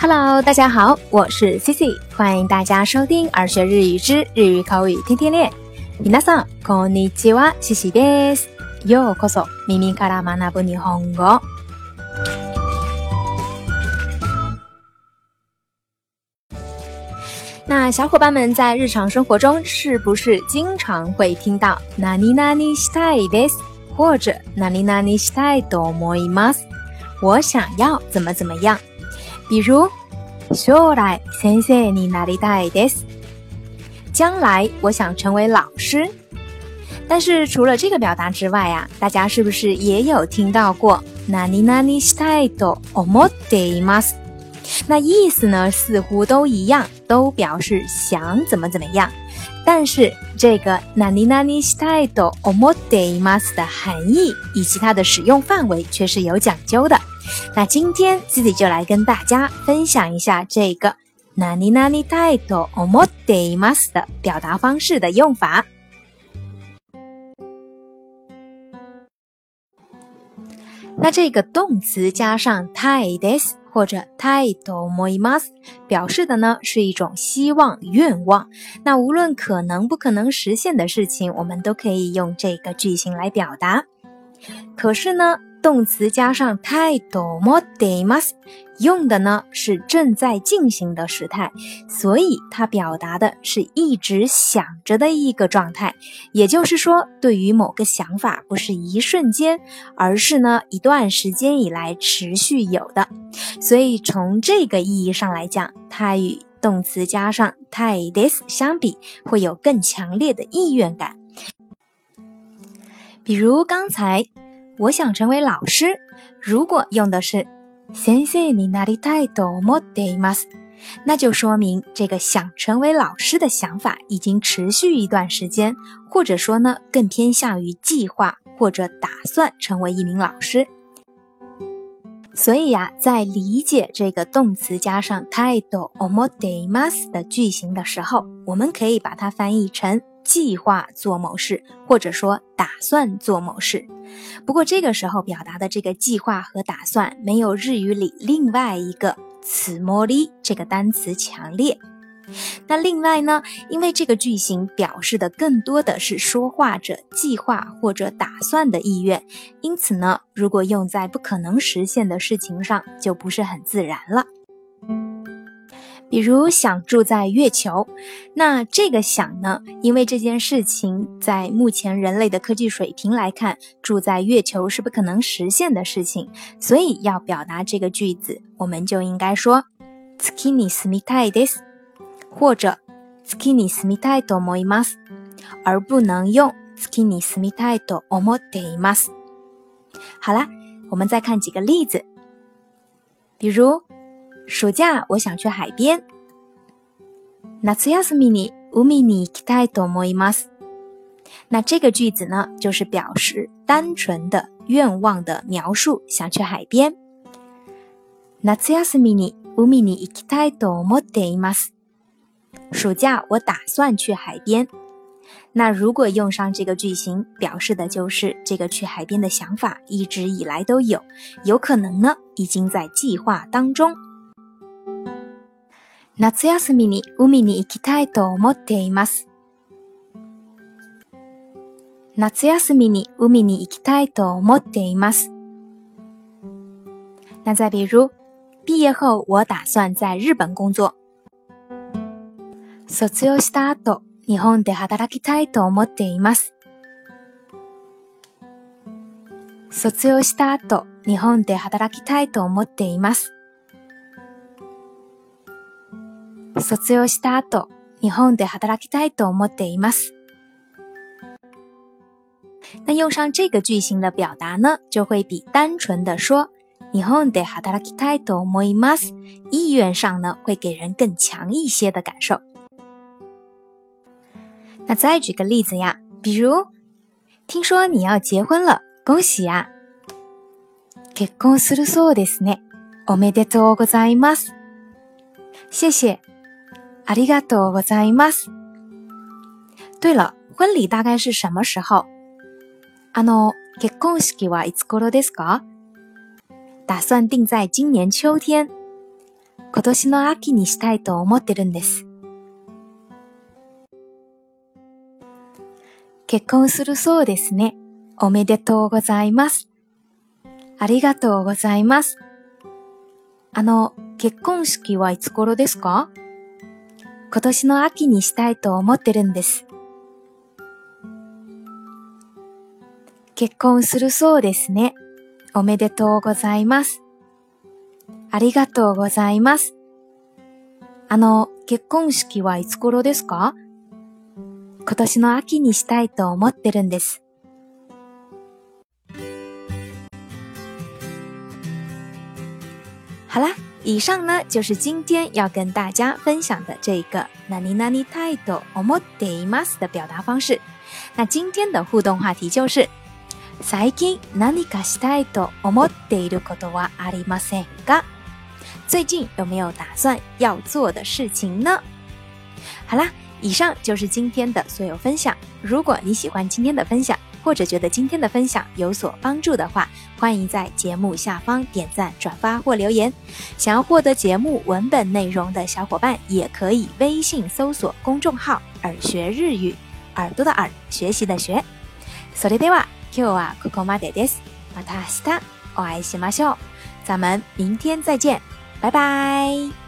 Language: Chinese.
Hello， 大家好，我是 Cici， 欢迎大家收听儿学日语之日语口语天天练。皆さんこんにちは、Ciciです。ようこそ耳から学ぶ日本語。那小伙伴们在日常生活中是不是经常会听到何々したいです或者何々したいと思います？我想要怎么怎么样。比如将来先生になりたいです。将来我想成为老师。但是除了这个表达之外啊，大家是不是也有听到过何々したいと思っています？那意思呢似乎都一样，都表示想怎么怎么样。但是这个何々したいと思っています的含义以及它的使用范围却是有讲究的。那今天自己就来跟大家分享一下这个何々たいと思っています的表达方式的用法。那这个动词加上たいです或者たいと思います表示的呢是一种希望、愿望。那無論可能不可能实现的事情，我们都可以用这个句型来表达。可是呢，动词加上たいと思っています用的呢是正在进行的时态，所以它表达的是一直想着的一个状态。也就是说，对于某个想法不是一瞬间，而是呢一段时间以来持续有的。所以从这个意义上来讲，它与动词加上たいです相比，会有更强烈的意愿感。比如刚才我想成为老师，如果用的是先生になりたいと思っています，那就说明这个想成为老师的想法已经持续一段时间，或者说呢更偏向于计划或者打算成为一名老师。所以呀，在理解这个动词加上たいと思っています的句型的时候，我们可以把它翻译成计划做某事，或者说打算做某事。不过这个时候表达的这个计划和打算没有日语里另外一个つもり这个单词强烈。那另外呢，因为这个句型表示的更多的是说话者计划或者打算的意愿，因此呢，如果用在不可能实现的事情上，就不是很自然了。比如想住在月球，那这个想呢，因为这件事情在目前人类的科技水平来看，住在月球是不可能实现的事情，所以要表达这个句子，我们就应该说月に住みたいです或者月に住みたいと思います，而不能用月に住みたいと思っています。好啦，我们再看几个例子。比如暑假我想去海边，夏休みに海に行きたいと思います。那这个句子呢，就是表示单纯的愿望的描述，想去海边。夏休みに海に行きたいと思っています。暑假我打算去海边。那如果用上这个句型，表示的就是这个去海边的想法一直以来都有，有可能呢已经在计划当中。夏休みに海に行きたいと思っています。夏休みに海に行きたいと思っています。那再比如毕业后我打算在日本工作。卒業した後、日本で働きたいと思っています。卒業した後、日本で働きたいと思っています。卒業した後、日本で働きたいと思っています。那用上这个句型的表达呢，就会比单纯的说日本で働きたいと思います，意愿上呢会给人更强一些的感受。那再举个例子呀，比如听说你要结婚了，恭喜呀。結婚するそうですね。おめでとうございます。谢谢。ありがとうございます。对了，婚礼大概是什么时候？結婚式はいつ頃ですか？打算定在今年秋天。 今年の秋にしたいと思ってるんです。結婚するそうですね。おめでとうございます。ありがとうございます。結婚式はいつ頃ですか？今年の秋にしたいと思ってるんです。結婚するそうですね。おめでとうございます。ありがとうございます。結婚式はいつ頃ですか？今年の秋にしたいと思ってるんです。好啦，以上呢就是今天要跟大家分享的这个何々たいと思っています的表达方式。那今天的互动话题就是最近何かしたいと思っていることはありませんか？最近有没有打算要做的事情呢？好啦，以上就是今天的所有分享。如果你喜欢今天的分享，或者觉得今天的分享有所帮助的话，欢迎在节目下方点赞、转发或留言。想要获得節目文本内容的小伙伴，也可以微信搜索公众号“耳学日语”，耳朵的耳，学习的学。それでは今日はここまでです。また明日お会いしましょう。咱们明天再见，拜拜。